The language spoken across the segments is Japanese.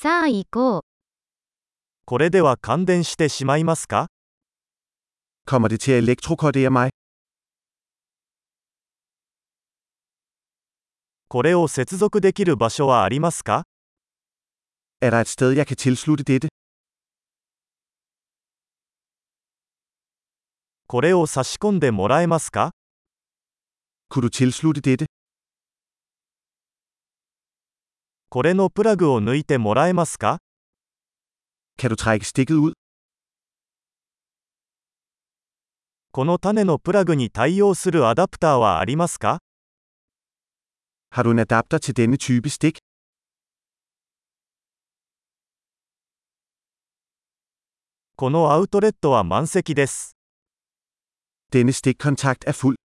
さあ行こう。 これでは感電してしまいますか？ Kommer det til at elektrokortere mig? これを接続できる場所はありますか？ Er der et sted, jeg kan tilslutte dette? これを差し込んでもらえますか？ Kunne du tilslutte dette? これのプラグを抜いてもらえますか？ Kan du trække stikket ud? この種のプラグに対応するアダプターはありますか？ Har du en adapter til denne type stik? このアウトレットは満席です。 Denne stikkontakt er fuld.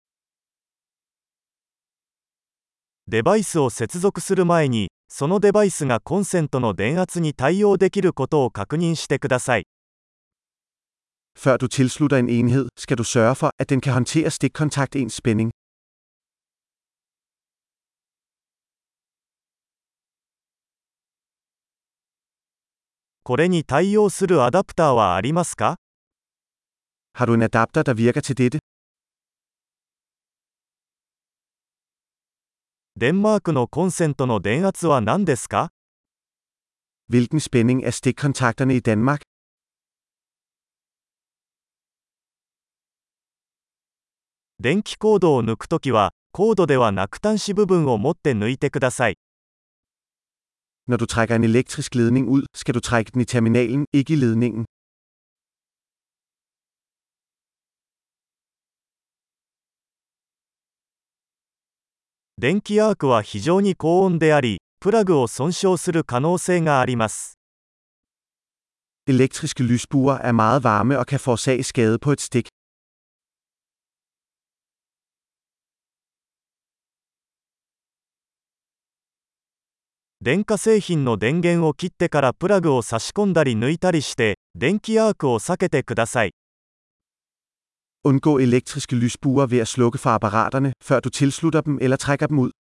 デバイスを接続する前に、そのデバイスがコンセントの電圧に対応できることを確認してください。 Før du tilslutter en enhed, skal du sørge for, at den kan håndtere stikkontaktens spænding. これに対応するアダプターはありますか？ Har du en adapter, der virker til dette? デンマークのコンセントの電圧は何ですか？ Hvilken spænding er stikkontakterne i Danmark? 電気コードを抜くときは、コードではなく端子部分を持って抜いてください。 Når du trækker en elektrisk ledning ud, skal du trække den i terminalen, ikke i ledningen. 電気アークは非常に高温であり、プラグを損傷する可能性があります。 Elektriske lysbuer er meget varme og kan forårsage skade på et stik. 電化製品の電源を切ってからプラグを差し込んだり抜いたりして、電気アークを避けてください。 Undgå elektriske lysbuer ved at slukke for apparaterne, før du tilslutter dem eller trækker dem ud.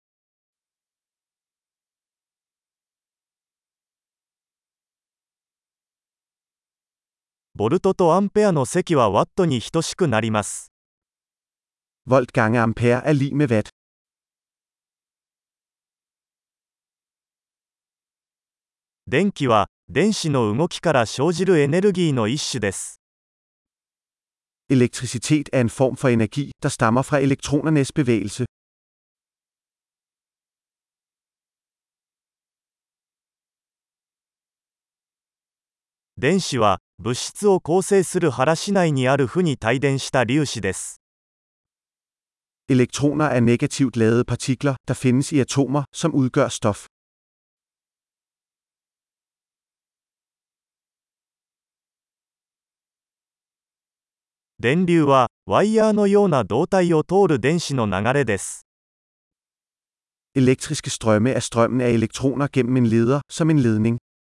ボルトとアンペアの積はワットに等しくなります。 Volt gange ampere er lig med watt. 電気は電子の動きから生じるエネルギーの一種です。 Elektricitet er en form for energi, der stammer fra elektronernes bevægelse. 電子は物質を構成する原子内にある負に帯電した粒子です。 Elektroner er negativt ladede partikler, der findes i atomer, som udgør stof. 電流はワイヤーのような導体を通る電子の流れです。 Elektriske strømme er strømmen af elektroner gennem en leder, som en ledning.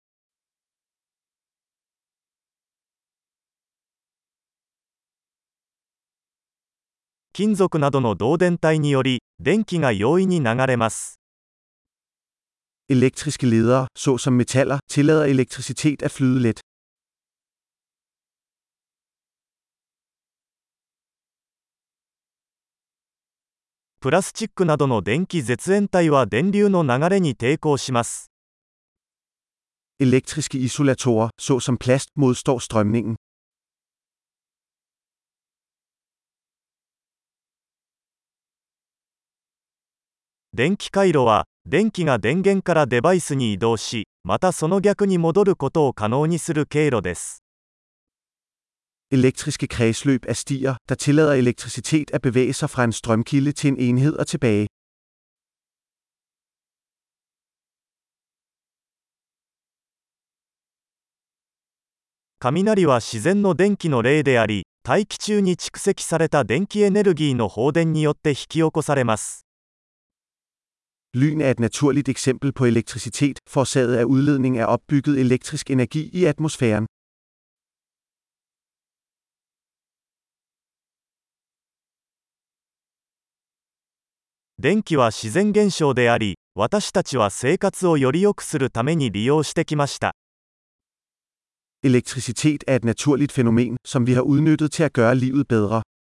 金属などの導電体により、電気が容易に流れます。 Elektriske ledere, såsom metaller, tillader elektricitet at flyde let. プラスチックなどの電気絶縁体は電流の流れに抵抗します。 Elektriske isolatorer, såsom plast, modstår strømningen. 電気回路は電気が電源からデバイスに移動し、またその逆に戻ることを可能にする経路です。 Elektriske kredsløb er stier, der tillader elektricitet at bevæge sig fra en strømkilde til en enhed og tilbage. 雷は自然の電気の例であり、大気中に蓄積された電気エネルギーの放電によって引き起こされます。 Lyn er et naturligt eksempel på elektricitet, forårsaget af udledning af opbygget elektrisk energi i atmosfæren. 電気は自然現象であり、 私たちは生活をより良くするために利用してきました。 Elektricitet er et naturligt fænomen, som vi har udnyttet til at gøre livet bedre.